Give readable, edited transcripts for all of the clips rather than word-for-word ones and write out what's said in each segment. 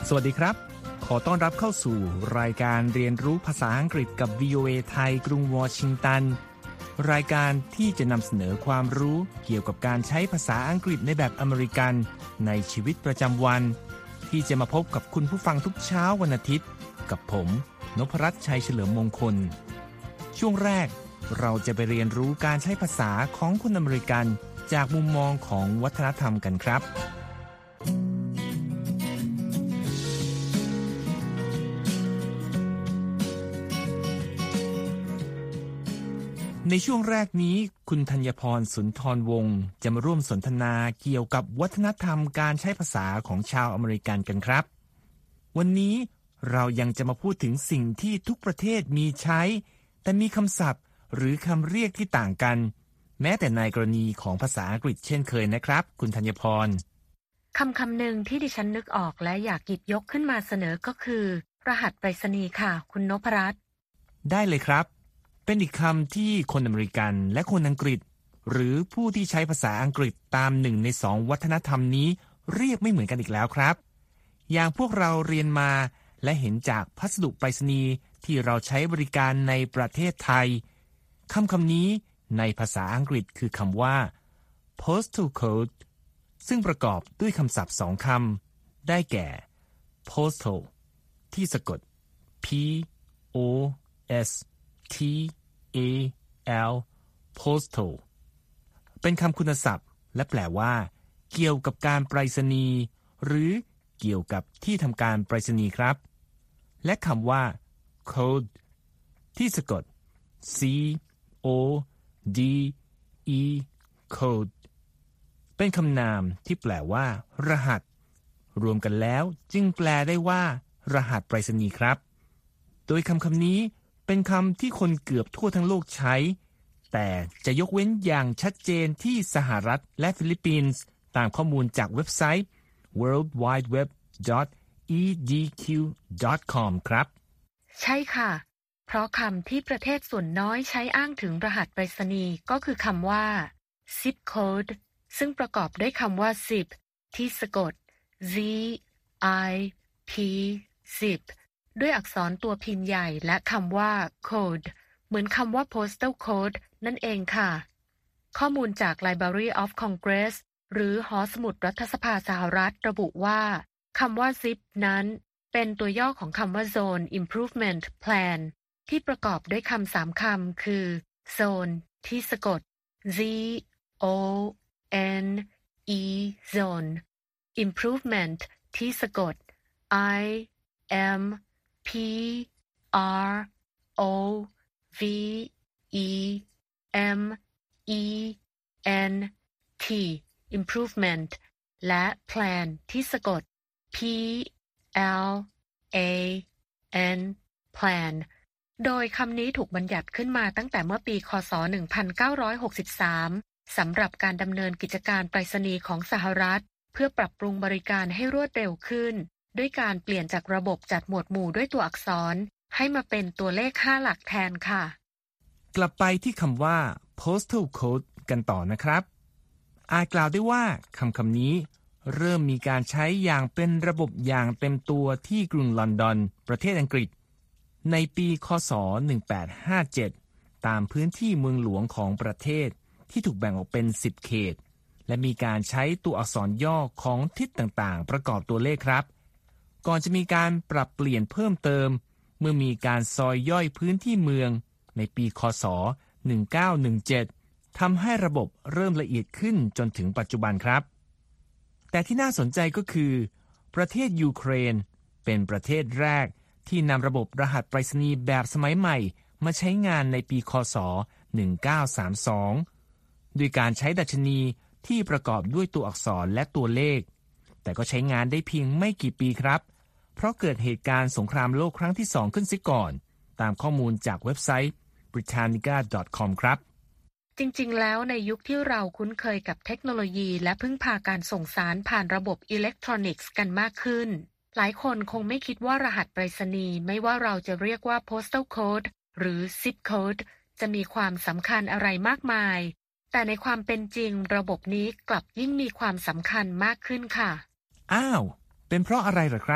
สวัสดีครับขอต้อนรับเข้าสู่รายการเรียนรู้ภาษาอังกฤษกับ VOA ไทยกรุงวอชิงตันรายการที่จะนำเสนอความรู้เกี่ยวกับการใช้ภาษาอังกฤษในแบบอเมริกันในชีวิตประจำวันที่จะมาพบกับคุณผู้ฟังทุกเช้าวันอาทิตย์กับผมนพรัตน์ชัยเฉลิมมงคลช่วงแรกเราจะไปเรียนรู้การใช้ภาษาของคนอเมริกันจากมุมมองของวัฒนธรรมกันครับในช่วงแรกนี้คุณธัญพรสุนทรวงศ์จะมาร่วมสนทนาเกี่ยวกับวัฒนธรรมการใช้ภาษาของชาวอเมริกันกันครับวันนี้เรายังจะมาพูดถึงสิ่งที่ทุกประเทศมีใช้แต่มีคำศัพท์หรือคำเรียกที่ต่างกันแม้แต่ในกรณีของภาษาอังกฤษเช่นเคยนะครับคุณธัญพรคำหนึ่งที่ดิฉันนึกออกและอยากหยิบยกขึ้นมาเสนอก็คือรหัสไปรษณีย์ค่ะคุณนพรัตน์ได้เลยครับเป็นอีกคำที่คนอเมริกันและคนอังกฤษหรือผู้ที่ใช้ภาษาอังกฤษตาม1 ใน 2วัฒนธรรมนี้เรียกไม่เหมือนกันอีกแล้วครับอย่างพวกเราเรียนมาและเห็นจากพัสดุไปรษณีย์ที่เราใช้บริการในประเทศไทยคำนี้ในภาษาอังกฤษคือคำว่า postal code ซึ่งประกอบด้วยคำศัพท์2 คำได้แก่ postal ที่สะกด p o s t a l postal เป็นคำคุณศัพท์และแปลว่าเกี่ยวกับการไปรษณีย์หรือเกี่ยวกับที่ทำการไปรษณีย์ครับและคำว่า code ที่สะกด c o d e code เป็นคำนามที่แปลว่ารหัสรวมกันแล้วจึงแปลได้ว่ารหัสไปรษณีย์ครับโดยคำนี้เป็นคำที่คนเกือบทั่วทั้งโลกใช้แต่จะยกเว้นอย่างชัดเจนที่สหรัฐและฟิลิปปินส์ตามข้อมูลจากเว็บไซต์ worldwideweb.edq.com ครับใช่ค่ะเพราะคำที่ประเทศส่วนน้อยใช้อ้างถึงรหัสไปรษณีย์ก็คือคำว่า zip code ซึ่งประกอบด้วยคำว่า zip ที่สะกด z i p zip ด้วยอักษรตัวพิมพ์ใหญ่และคำว่า code เหมือนคำว่า postal code นั่นเองค่ะข้อมูลจาก Library of Congress หรือหอสมุดรัฐสภาสหรัฐระบุว่าคำว่า zip นั้นเป็นตัวย่อของคำว่า Zone Improvement Plan ที่ประกอบด้วยคำ3 คำคือ Zone ที่สะกด Z O N E Zone Improvement ที่สะกด I M P R O V E M E N T Improvement และ Plan ที่สะกด P L A N Plan โดยคำนี้ถูกบัญญัติขึ้นมาตั้งแต่เมื่อปีคศ1963สำหรับการดำเนินกิจการไปรษณีย์ของสหรัฐเพื่อปรับปรุงบริการให้รวดเร็วขึ้นด้วยการเปลี่ยนจากระบบจัดหมวดหมู่ด้วยตัวอักษรให้มาเป็นตัวเลข5 หลักแทนค่ะกลับไปที่คำว่า postal code กันต่อนะครับอาจกล่าวได้ว่าคำนี้เริ่มมีการใช้อย่างเป็นระบบอย่างเต็มตัวที่กรุงลอนดอนประเทศอังกฤษในปีคศ1857ตามพื้นที่เมืองหลวงของประเทศที่ถูกแบ่งออกเป็น10 เขตและมีการใช้ตัวอักษรย่อของทิศต่างๆประกอบตัวเลขครับก่อนจะมีการปรับเปลี่ยนเพิ่มเติมเมื่อมีการซอยย่อยพื้นที่เมืองในปีคศ1917ทำให้ระบบเริ่มละเอียดขึ้นจนถึงปัจจุบันครับแต่ที่น่าสนใจก็คือประเทศยูเครนเป็นประเทศแรกที่นำระบบรหัสไปรษณีย์แบบสมัยใหม่มาใช้งานในปีคศ1932ด้วยการใช้ดัชนีที่ประกอบด้วยตัวอักษรและตัวเลขแต่ก็ใช้งานได้เพียงไม่กี่ปีครับเพราะเกิดเหตุการณ์สงครามโลกครั้งที่2ขึ้นเสียก่อนตามข้อมูลจากเว็บไซต์ britannica.com ครับจริงๆแล้วในยุคที่เราคุ้นเคยกับเทคโนโลยีและพึ่งพาการส่งสารผ่านระบบอิเล็กทรอนิกส์กันมากขึ้นหลายคนคงไม่คิดว่ารหัสไปรษณีย์ไม่ว่าเราจะเรียกว่า postal code หรือ zip code จะมีความสำคัญอะไรมากมายแต่ในความเป็นจริงระบบนี้กลับยิ่งมีความสำคัญมากขึ้นค่ะอ้าวเป็นเพราะอะไรเหรอครับ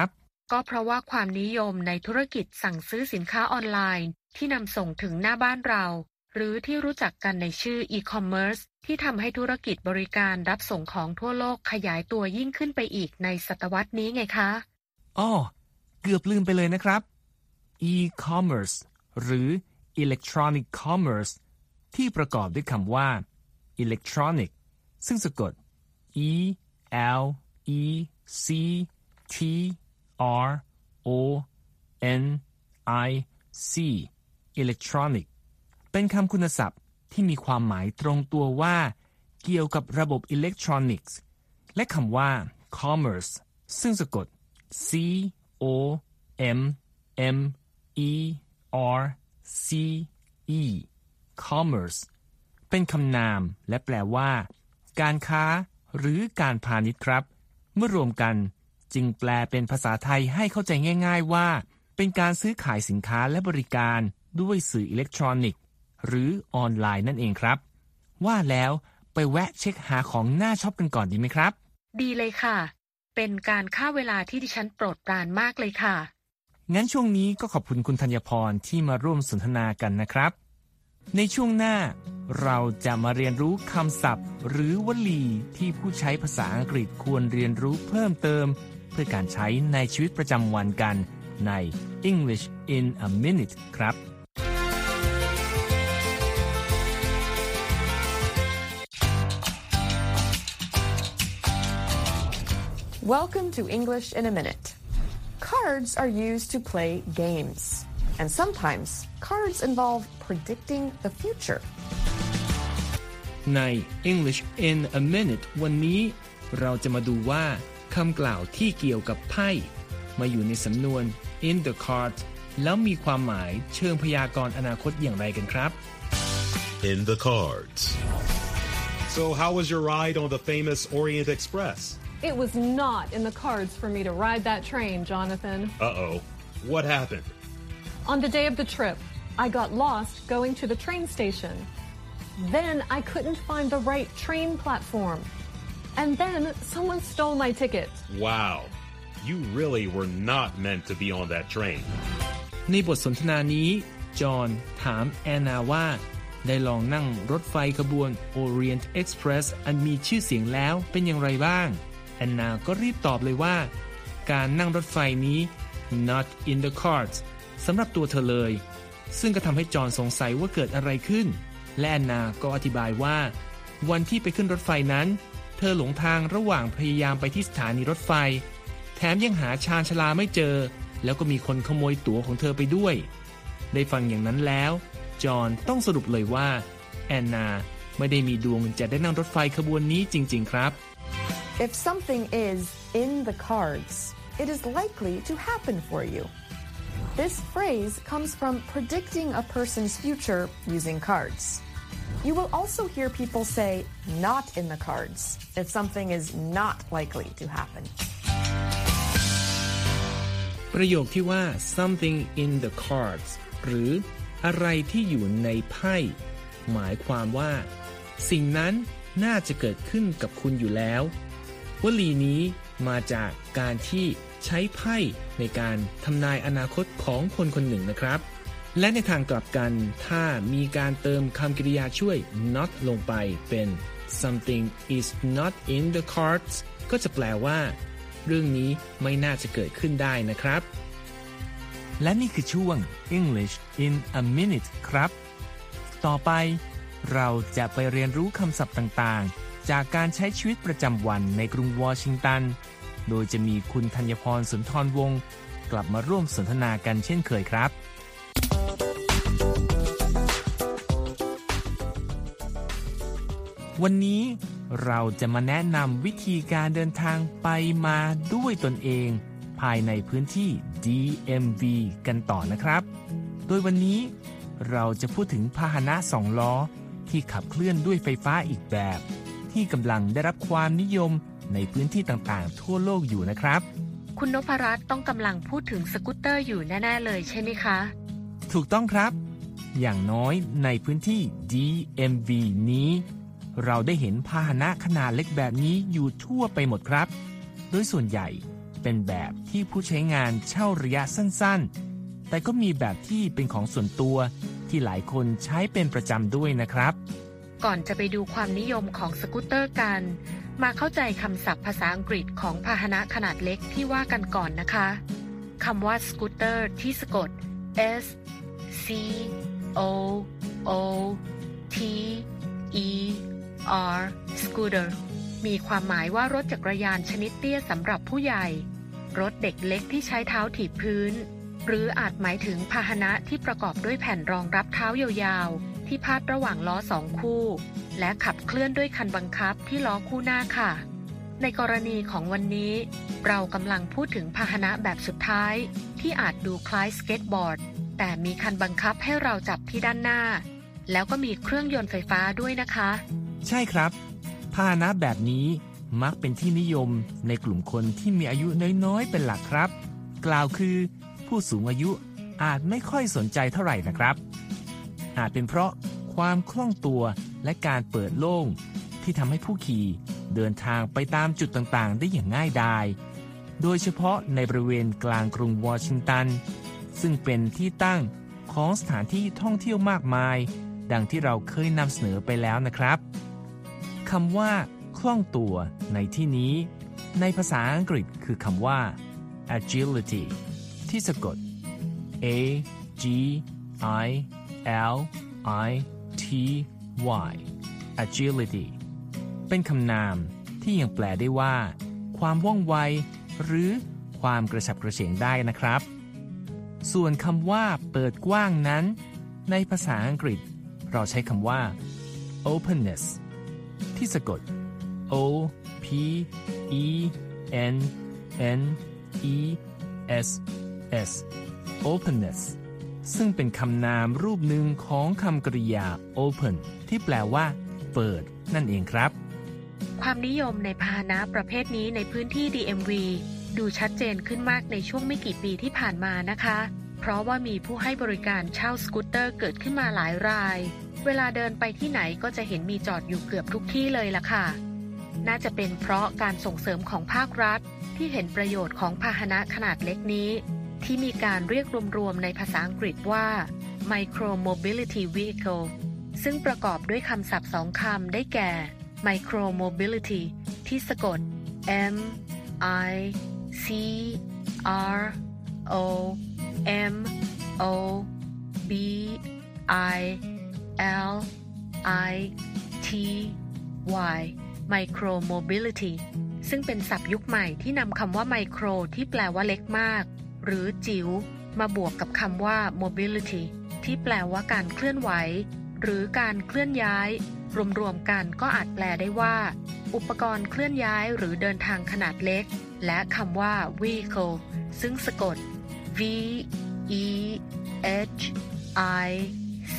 ก็เพราะว่าความนิยมในธุรกิจสั่งซื้อสินค้าออนไลน์ที่นำส่งถึงหน้าบ้านเราหรือที่รู้จักกันในชื่อ e-commerce ที่ทำให้ธุรกิจบริการรับส่งของทั่วโลกขยายตัวยิ่งขึ้นไปอีกในศตวรรษนี้ไงคะอ้อเกือบลืมไปเลยนะครับ e-commerce หรือ electronic commerce ที่ประกอบด้วยคำว่า electronic ซึ่งสะกด e l e c t r o n i c electronic เป็นคำคุณศัพท์ที่มีความหมายตรงตัวว่าเกี่ยวกับระบบอิเล็กทรอนิกส์และคำว่า commerce ซึ่งสะกด c o m m e r c e commerce เป็นคำนามและแปลว่าการค้าหรือการพาณิชย์ครับเมื่อรวมกันจึงแปลเป็นภาษาไทยให้เข้าใจง่ายๆว่าเป็นการซื้อขายสินค้าและบริการด้วยสื่ออิเล็กทรอนิกส์หรือออนไลน์นั่นเองครับว่าแล้วไปแวะเช็คหาของน่าช็อปกันก่อนดีไหมครับดีเลยค่ะเป็นการฆ่าเวลาที่ดิฉันโปรดปรานมากเลยค่ะงั้นช่วงนี้ก็ขอบคุณคุณธัญพรที่มาร่วมสนทนากันนะครับในช่วงหน้าเราจะมาเรียนรู้คำศัพท์หรือวลีที่ผู้ใช้ภาษาอังกฤษควรเรียนรู้เพิ่มเติมเพื่อการใช้ในชีวิตประจำวันกันใน English in a Minute ครับ Welcome to English in a Minute. Cards are used to play games, and sometimes cards involve predicting the future. ใน English in a Minute วันนี้เราจะมาดูว่าคำกล่าวที่เกี่ยวกับไพ่มาอยู่ในสำนวน in the card แล้วมีความหมายเชิงพยากรณ์อนาคตอย่างไรกันครับ In the cards. So how was your ride on the famous Orient Express? It was not in the cards for me to ride that train, Jonathan. Uh-oh. What happened? On the day of the trip, I got lost going to the train station. Then I couldn't find the right train platform. And then someone stole my ticket. Wow. You really were not meant to be on that train. ในบทสนทนานี้จอห์นถามแอนนาว่าได้ลองนั่งรถไฟขบวน Orient Express อันมีชื่อเสียงแล้วเป็นอย่างไรบ้างแอนนาก็รีบตอบเลยว่าการนั่งรถไฟนี้ not in the cards สำหรับตัวเธอเลยซึ่งก็ทำให้จอห์นสงสัยว่าเกิดอะไรขึ้นและแอนนาก็อธิบายว่าวันที่ไปขึ้นรถไฟนั้นเธอหลงทางระหว่างพยายามไปที่สถานีรถไฟแถมยังหาชานชาลาไม่เจอแล้วก็มีคนขโมยตั๋วของเธอไปด้วยได้ฟังอย่างนั้นแล้วจอห์นต้องสรุปเลยว่าแอนนาไม่ได้มีดวงจะได้นั่งรถไฟขบวนนี้จริงๆครับ If something is in the cards, it is likely to happen for you. This phrase comes from predicting a person's future using cards. You will also hear people say not in the cards if something is not likely to happen. ประโยคที่ว่า something in the cards หรืออะไรที่อยู่ในไพ่หมายความว่าสิ่งนั้นน่าจะเกิดขึ้นกับคุณอยู่แล้ววลีนี้มาจากการที่ใช้ไพ่ในการทำนายอนาคตของคนคนหนึ่งนะครับและในทางกลับกันถ้ามีการเติมคำกริยาช่วย not ลงไปเป็น something is not in the cards ก็จะแปลว่าเรื่องนี้ไม่น่าจะเกิดขึ้นได้นะครับและนี่คือช่วง English in a Minute ครับต่อไปเราจะไปเรียนรู้คำศัพท์ต่างๆจากการใช้ชีวิตประจำวันในกรุงวอชิงตันโดยจะมีคุณธัญพรสุนทรวงศ์กลับมาร่วมสนทนากันเช่นเคยครับวันนี้เราจะมาแนะนำวิธีการเดินทางไปมาด้วยตนเองภายในพื้นที่ DMV กันต่อนะครับโดยวันนี้เราจะพูดถึงพาหนะ2ล้อที่ขับเคลื่อนด้วยไฟฟ้าอีกแบบที่กำลังได้รับความนิยมในพื้นที่ต่างๆทั่วโลกอยู่นะครับคุณนพรัตน์ต้องกำลังพูดถึงสกูตเตอร์อยู่แน่ๆเลยใช่ไหมคะถูกต้องครับอย่างน้อยในพื้นที่ DMV นี้เราได้เห็นพาหนะขนาดเล็กแบบนี้อยู่ทั่วไปหมดครับโดยส่วนใหญ่เป็นแบบที่ผู้ใช้งานเช่าระยะสั้นๆแต่ก็มีแบบที่เป็นของส่วนตัวที่หลายคนใช้เป็นประจำด้วยนะครับก่อนจะไปดูความนิยมของสกูตเตอร์กันมาเข้าใจคำศัพท์ภาษาอังกฤษของพาหนะขนาดเล็กที่ว่ากันก่อนนะคะคำว่าสกูตเตอร์ที่สะกด S C O O T E R scooter มีความหมายว่ารถจักรยานชนิดเตี้ยสำหรับผู้ใหญ่รถเด็กเล็กที่ใช้เท้าถีบพื้นหรืออาจหมายถึงพาหนะที่ประกอบด้วยแผ่นรองรับเท้ายาวๆที่พาดระหว่างล้อ2คู่และขับเคลื่อนด้วยคันบังคับที่ล้อคู่หน้าค่ะในกรณีของวันนี้เรากำลังพูดถึงพาหนะแบบสุดท้ายที่อาจดูคล้ายสเก็ตบอร์ดแต่มีคันบังคับให้เราจับที่ด้านหน้าแล้วก็มีเครื่องยนต์ไฟฟ้าด้วยนะคะใช่ครับพาหนะแบบนี้มักเป็นที่นิยมในกลุ่มคนที่มีอายุน้อยๆเป็นหลักครับกล่าวคือผู้สูงอายุอาจไม่ค่อยสนใจเท่าไหร่นะครับอาจเป็นเพราะความคล่องตัวและการเปิดโล่งที่ทำให้ผู้ขี่เดินทางไปตามจุดต่างๆได้อย่างง่ายดายโดยเฉพาะในบริเวณกลางกรุงวอชิงตันซึ่งเป็นที่ตั้งของสถานที่ท่องเที่ยวมากมายดังที่เราเคยนำเสนอไปแล้วนะครับคำว่าคล่องตัวในที่นี้ในภาษาอังกฤษคือคำว่า agility ที่สะกด A G I L I T Y agility เป็นคำนามที่ยังแปลได้ว่าความว่องไวหรือความกระฉับกระเฉงได้นะครับส่วนคำว่าเปิดกว้างนั้นในภาษาอังกฤษเราใช้คำว่า openness ที่สะกด O P E N N E S S openness ซึ่งเป็นคำนามรูปหนึ่งของคำกริยา open ที่แปลว่าเปิดนั่นเองครับความนิยมในพาหนะประเภทนี้ในพื้นที่ DMV ดูชัดเจนขึ้นมากในช่วงไม่กี่ปีที่ผ่านมานะคะเพราะว่ามีผู้ให้บริการเช่าสกูตเตอร์เกิดขึ้นมาหลายรายเวลาเดินไปที่ไหนก็จะเห็นมีจอดอยู่เกือบทุกที่เลยล่ะค่ะน่าจะเป็นเพราะการส่งเสริมของภาครัฐที่เห็นประโยชน์ของพาหนะขนาดเล็กนี้ที่มีการเรียกรวมๆในภาษาอังกฤษว่า Micro Mobility Vehicle ซึ่งประกอบด้วยคำศัพท์2คำได้แก่ Micro Mobility ที่สะกด M I C R O M O B I L I T Y Micro Mobility ซึ่งเป็นศัพท์ยุคใหม่ที่นำคำว่าไมโครที่แปลว่าเล็กมากหรือจิ๋วมาบวกกับคำว่า mobility ที่แปลว่าการเคลื่อนไหวหรือการเคลื่อนย้ายรวมๆกันก็อาจแปลได้ว่าอุปกรณ์เคลื่อนย้ายหรือเดินทางขนาดเล็กและคำว่า vehicle ซึ่งสะกด V E H I C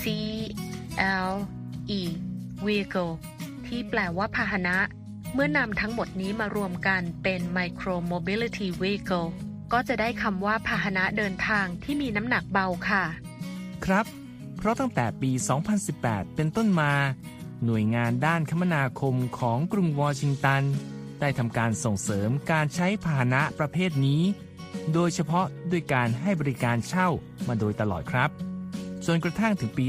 L E vehicle ที่แปลว่าพาหนะเมื่อนำทั้งหมดนี้มารวมกันเป็น micro mobility vehicleก็จะได้คำว่าพาหนะเดินทางที่มีน้ำหนักเบาค่ะครับเพราะตั้งแต่ปี 2018 เป็นต้นมาหน่วยงานด้านคมนาคมของกรุงวอชิงตันได้ทำการส่งเสริมการใช้พาหนะประเภทนี้โดยเฉพาะด้วยการให้บริการเช่ามาโดยตลอดครับจนกระทั่งถึงปี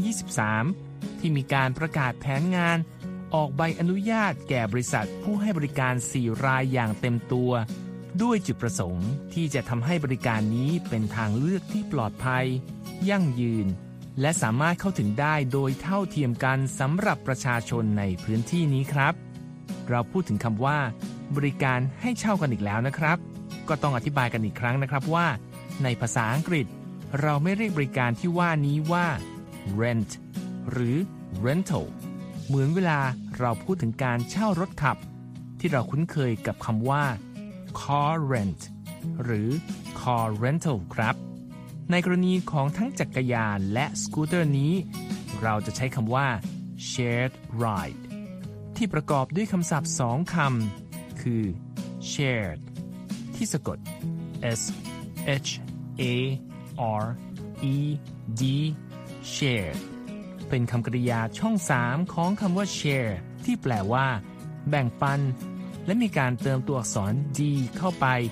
2023 ที่มีการประกาศแผนงานออกใบอนุญาตแก่บริษัทผู้ให้บริการ 4 รายอย่างเต็มตัวด้วยจุดประสงค์ที่จะทำให้บริการนี้เป็นทางเลือกที่ปลอดภัยยั่งยืนและสามารถเข้าถึงได้โดยเท่าเทียมกันสำหรับประชาชนในพื้นที่นี้ครับเราพูดถึงคำว่าบริการให้เช่ากันอีกแล้วนะครับก็ต้องอธิบายกันอีกครั้งนะครับว่าในภาษาอังกฤษเราไม่เรียกบริการที่ว่านี้ว่า rent หรือ rental เหมือนเวลาเราพูดถึงการเช่ารถขับที่เราคุ้นเคยกับคำว่าcar rent หรือ car rental ครับในกรณีของทั้งจักรยานและสกูตเตอร์นี้เราจะใช้คำว่า shared ride ที่ประกอบด้วยคำศัพท์2คำคือ shared ที่สะกด S H A R E D shared เป็นคำกริยาช่อง3ของคำว่า share ที่แปลว่าแบ่งปันและมีการเติมตัวอักษร d เข้าไป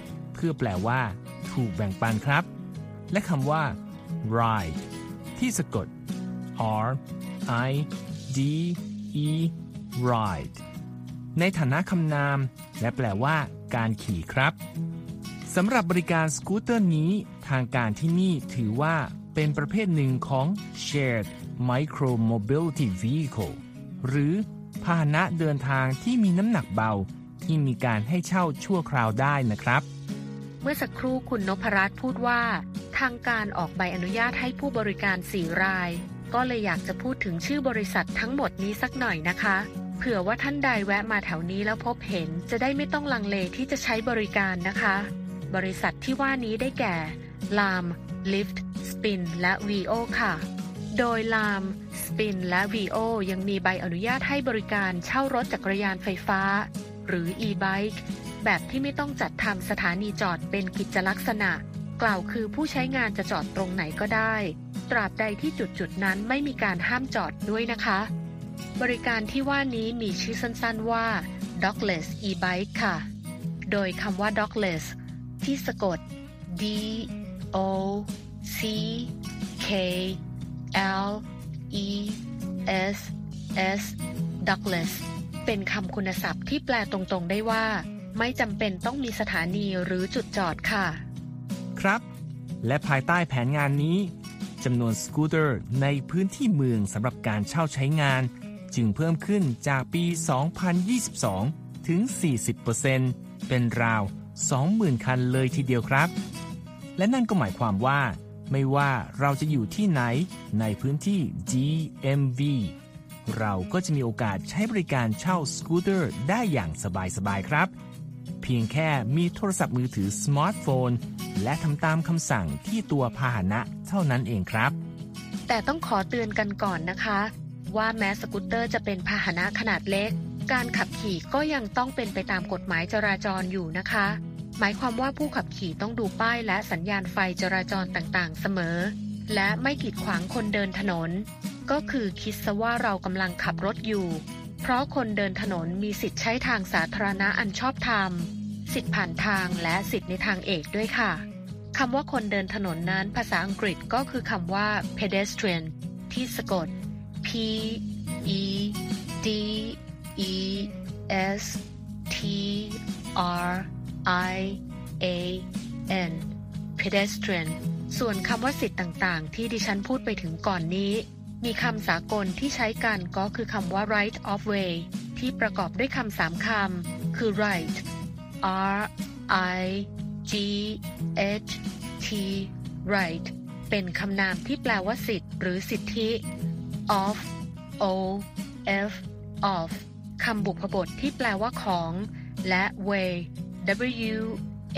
พื่อแปลว่าถูกแบ่งปันครับและคำว่า ride ที่สะกด R I D E ride ในฐานะคำนามและแปลว่าการขี่ครับสำหรับบริการสกูตเตอร์นี้ทางการที่นี่ถือว่าเป็นประเภทหนึ่งของ Shared Micro Mobility Vehicle หรือพาหนะเดินทางที่มีน้ำหนักเบาที่มีการให้เช่าชั่วคราวได้นะครับเมื่อสักครู่คุณนพรัตน์พูดว่าทางการออกใบอนุญาตให้ผู้บริการ4รายก็เลยอยากจะพูดถึงชื่อบริษัททั้งหมดนี้สักหน่อยนะคะเผื่อว่าท่านใดแวะมาแถวนี้แล้วพบเห็นจะได้ไม่ต้องลังเลที่จะใช้บริการนะคะบริษัทที่ว่านี้ได้แก่ Lam Lift Spin และ VO ค่ะโดย Lam Spin และ VO ยังมีใบอนุญาตให้บริการเช่ารถจักรยานไฟฟ้าหรือ e-bike แบบที่ไม่ต้องจัดทำสถานีจอดเป็นกิจลักษณะกล่าวคือผู้ใช้งานจะจอดตรงไหนก็ได้ตราบใดที่จุดนั้นไม่มีการห้ามจอดด้วยนะคะบริการที่ว่านี้มีชื่อสั้นๆว่า Dockless e-bike ค่ะโดยคำว่า Dockless ที่สะกด D O C K L E S S Dockless เป็นคำคุณศัพท์ที่แปลตรงๆได้ว่าไม่จำเป็นต้องมีสถานีหรือจุดจอดค่ะครับและภายใต้แผนงานนี้จำนวนสกูตเตอร์ในพื้นที่เมืองสำหรับการเช่าใช้งานจึงเพิ่มขึ้นจากปี 2022 ถึง 40% เป็นราว 20,000 คันเลยทีเดียวครับและนั่นก็หมายความว่าไม่ว่าเราจะอยู่ที่ไหนในพื้นที่ DMV เราก็จะมีโอกาสใช้บริการเช่าสกูตเตอร์ได้อย่างสบายๆครับเพียงแค่มีโทรศัพท์มือถือสมาร์ทโฟนและทำตามคำสั่งที่ตัวพาหนะเท่านั้นเองครับแต่ต้องขอเตือนกันก่อนนะคะว่าแม้สกูตเตอร์จะเป็นพาหนะขนาดเล็กการขับขี่ก็ยังต้องเป็นไปตามกฎหมายจราจรอยู่นะคะหมายความว่าผู้ขับขี่ต้องดูป้ายและสัญญาณไฟจราจรต่างๆเสมอและไม่กีดขวางคนเดินถนนก็คือคิดซะว่าเรากำลังขับรถอยู่เพราะคนเดินถนนมีสิทธิ์ใช้ทางสาธารณะอันชอบธรรมสิทธิผ่านทางและสิทธิในทางเอกด้วยค่ะคำว่าคนเดินถนนนั้นภาษาอังกฤษก็คือคำว่า pedestrian ที่สะกด P E D E S T R I A N pedestrian ส่วนคำว่าสิทธิ์ต่างๆที่ดิฉันพูดไปถึงก่อนนี้มีคำสากลที่ใช้กันก็คือคำว่า right of way ที่ประกอบด้วยคำ3คำคือ right R I G H T right เป็นคำนามที่แปลว่าสิทธิ์หรือสิทธิ of O F of คำบุพบทที่แปลว่าของและ way W A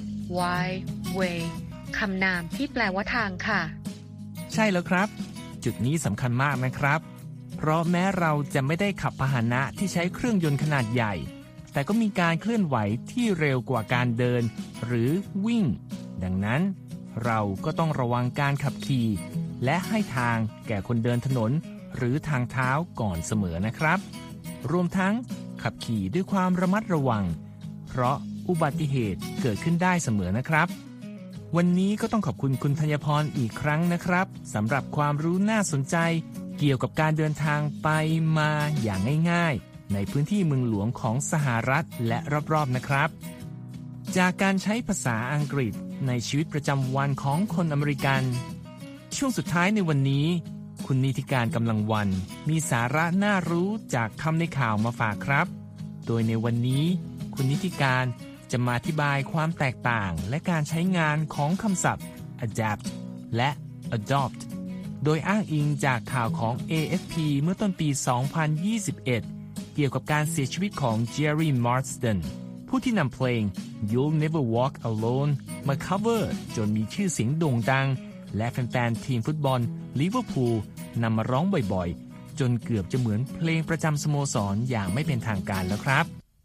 Y way คำนามที่แปลว่าทางค่ะใช่แล้วครับจุดนี้สำคัญมากนะครับเพราะแม้เราจะไม่ได้ขับพาหนะที่ใช้เครื่องยนต์ขนาดใหญ่แต่ก็มีการเคลื่อนไหวที่เร็วกว่าการเดินหรือวิ่งดังนั้นเราก็ต้องระวังการขับขี่และให้ทางแก่คนเดินถนนหรือทางเท้าก่อนเสมอนะครับรวมทั้งขับขี่ด้วยความระมัดระวังเพราะอุบัติเหตุเกิดขึ้นได้เสมอนะครับวันนี้ก็ต้องขอบคุณคุณธัญพรอีกครั้งนะครับสำหรับความรู้น่าสนใจเกี่ยวกับการเดินทางไปมาอย่างง่ายๆในพื้นที่เมืองหลวงของสหรัฐและรอบๆนะครับจากการใช้ภาษาอังกฤษในชีวิตประจำวันของคนอเมริกันช่วงสุดท้ายในวันนี้คุณนิติการกำลังวันมีสาระน่ารู้จากคำในข่าวมาฝากครับโดยในวันนี้คุณนิติการจะมาอธิบายความแตกต่างและการใช้งานของคำศัพท์ adapt และ adopt โดยอ้างอิงจากข่าวของ AFP เมื่อต้นปี 2021 เกี่ยวกับการเสียชีวิตของ Jerry Marsden ผู้ที่นำเพลง You'll Never Walk Alone มา cover จนมีชื่อเสียงโด่งดังและแฟนๆทีมฟุตบอลลิเวอร์พูลนำมาร้องบ่อยๆจนเกือบจะเหมือนเพลงประจำสโมสรอย่างไม่เป็นทางการแล้วครับ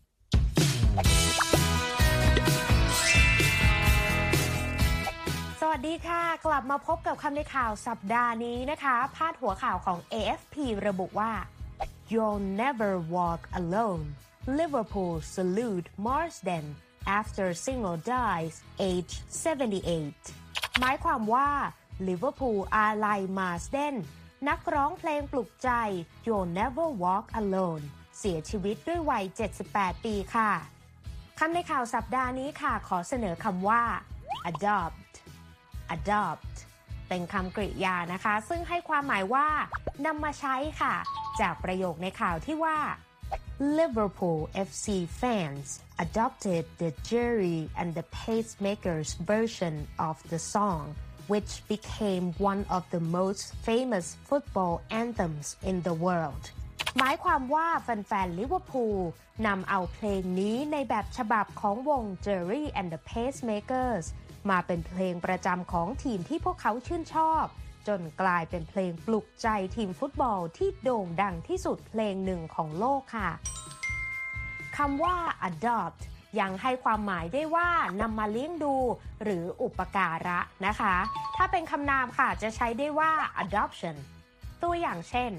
สวัสดีค่ะกลับมาพบกับคำในข่าวสัปดาห์นี้นะคะพาดหัวข่าวของ AFP ระบุว่า You'll never walk alone Liverpool salute Marsden after singer dies age 78 หมายความว่าลิเวอร์พูลอาลัยมาร์สเดนนักร้องเพลงปลุกใจ You'll Never Walk Alone เสียชีวิตด้วยวัย78ปีค่ะคำในข่าวสัปดาห์นี้ค่ะขอเสนอคำว่า adopt เป็นคำกริยานะคะซึ่งให้ความหมายว่านำมาใช้ค่ะจากประโยคในข่าวที่ว่า Liverpool FC fans adopted the Jerry and the Pacemakers version of the song which became one of the most famous football anthems in the world หมายความว่าแฟนๆลิเวอร์พูลนำเอาเพลงนี้ในแบบฉบับของวง Jerry and the Pacemakers มาเป็นเพลงประจำของทีมที่พวกเขาชื่นชอบจนกลายเป็นเพลงปลุกใจทีมฟุตบอลที่โด่งดังที่สุดเพลงหนึ่งของโลกค่ะคำว่า adopt ยังให้ความหมายได้ว่านำมาเลี้ยงดูหรืออุปการะนะคะถ้าเป็นคำนามค่ะจะใช้ได้ว่า adoption ตัวอย่างเช่น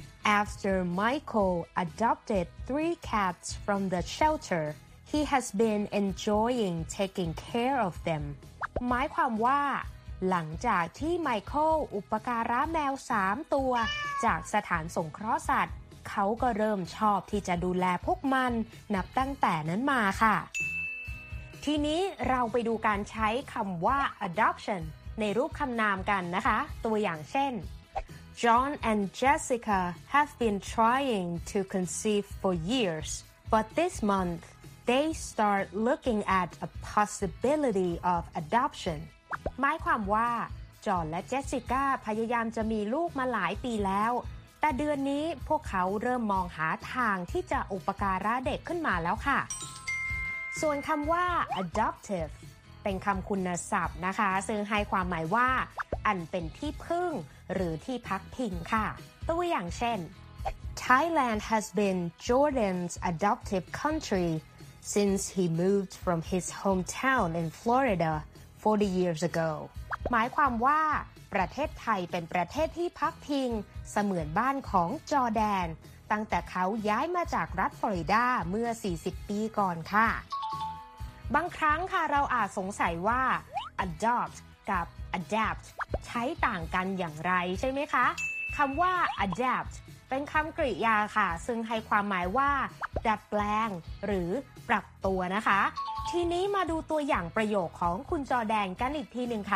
After Michael adopted 3 cats from the shelter he has been enjoying taking care of them หมายความว่าหลังจากที่ไมเคิลอุปการะแมว3ตัวจากสถานสงเคราะห์สัตว์เขาก็เริ่มชอบที่จะดูแลพวกมันนับตั้งแต่นั้นมาค่ะทีนี้เราไปดูการใช้คำว่า adoption ในรูปคำนามกันนะคะตัวอย่างเช่น John and Jessica have been trying to conceive for years but this month they start looking at a possibility of adoption หมายความว่าจอห์นและเจสสิก้าพยายามจะมีลูกมาหลายปีแล้วแต่เดือนนี้พวกเขาเริ่มมองหาทางที่จะอุปการะเด็กขึ้นมาแล้วค่ะส่วนคำว่า adoptive เป็นคำคุณศัพท์นะคะซึ่งให้ความหมายว่าอันเป็นที่พึ่งหรือที่พักพิงค่ะตัวอย่างเช่น Thailand has been Jordan's adoptive country since he moved from his hometown in Florida 40 years ago หมายความว่าประเทศไทยเป็นประเทศที่พักพิงเสมือนบ้านของจอร์แดนตั้งแต่เขาย้ายมาจากรัฐฟลอริดาเมื่อ40ปีก่อนค่ะบางครั้งค่ะเราอาจสงสัยว่า adopt กับ adapt ใช้ต่างกันอย่างไรใช่ไหมคะคำว่า adapt เป็นคำกริยาค่ะซึ่งให้ความหมายว่าดัดแปลงหรือปรับตัวนะคะทีนี้มาดูตัวอย่างประโยคของคุณจอร์แดนกันอีกทีหนึ่งค่ะ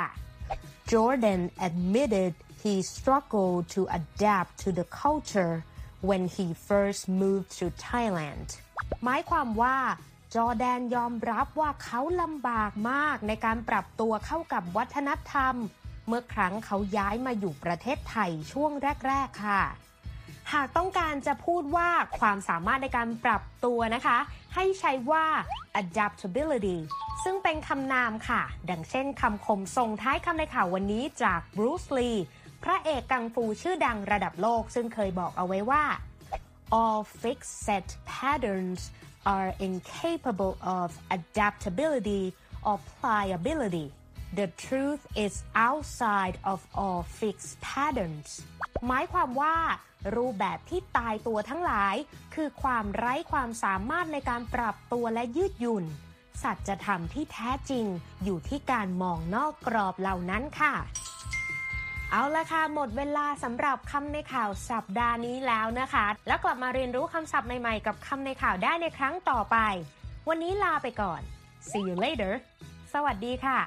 Jordan admitted he struggled to adapt to the culture when he first moved to Thailand หมายความว่าจอร์แดนยอมรับว่าเขาลำบากมากในการปรับตัวเข้ากับวัฒนธรรมเมื่อครั้งเขาย้ายมาอยู่ประเทศไทยช่วงแรกๆค่ะหากต้องการจะพูดว่าความสามารถในการปรับตัวนะคะให้ใช้ว่า adaptability ซึ่งเป็นคำนามค่ะดังเช่นคำคมส่งท้ายคำในข่าววันนี้จากบรูซลีพระเอกกังฟูชื่อดังระดับโลกซึ่งเคยบอกเอาไว้ว่า all fixed set patterns are incapable of adaptability or pliability. The truth is outside of all fixed patterns. หมายความว่ารูปแบบที่ตายตัวทั้งหลายคือความไร้ความสามารถในการปรับตัวและยืดหยุ่นสัจธรรมที่แท้จริงอยู่ที่การมองนอกกรอบเหล่านั้นค่ะเอาละค่ะหมดเวลาสำหรับคำในข่าวสัปดาห์นี้แล้วนะคะแล้วกลับมาเรียนรู้คำศัพท์ใหม่ๆกับคำในข่าวได้ในครั้งต่อไปวันนี้ลาไปก่อน See you later สวัสดีค่ะ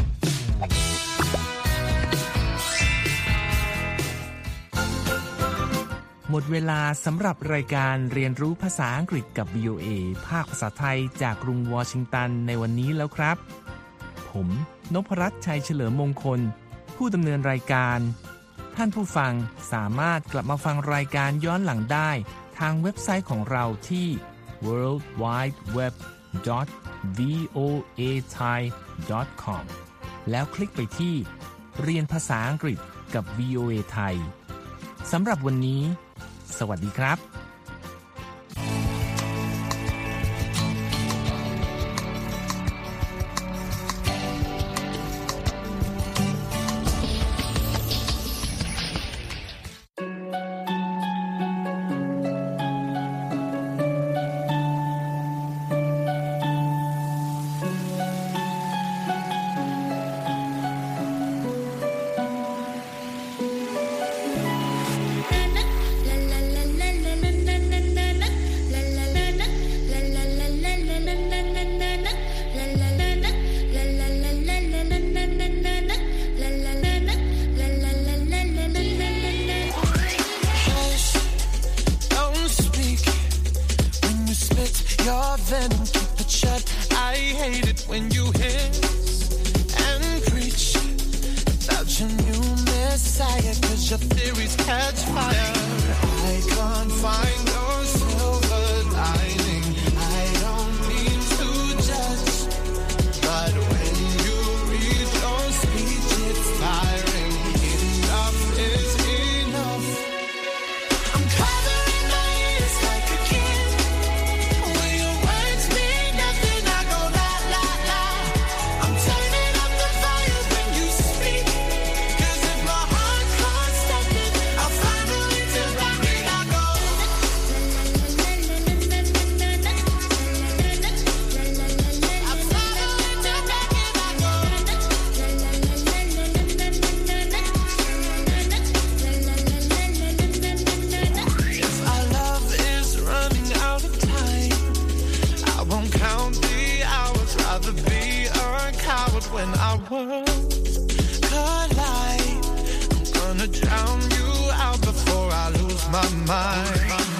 หมดเวลาสำหรับรายการเรียนรู้ภาษาอังกฤษกับ VOA ภาคภาษาไทยจากกรุงวอชิงตันในวันนี้แล้วครับผมนพรัตน์ชัยเฉลิมมงคลผู้ดำเนินรายการท่านผู้ฟังสามารถกลับมาฟังรายการย้อนหลังได้ทางเว็บไซต์ของเราที่ worldwideweb.voathai.com แล้วคลิกไปที่เรียนภาษาอังกฤษกับ VOA ไทยสำหรับวันนี้สวัสดีครับ collide. I'm gonna drown you out before I lose my mind.